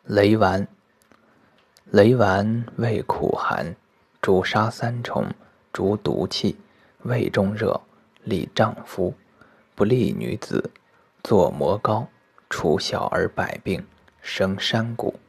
雷丸，雷丸味苦寒，主杀三虫，逐毒气，胃中热，利丈夫，不利女子，作磨膏，除小儿百病，生山谷。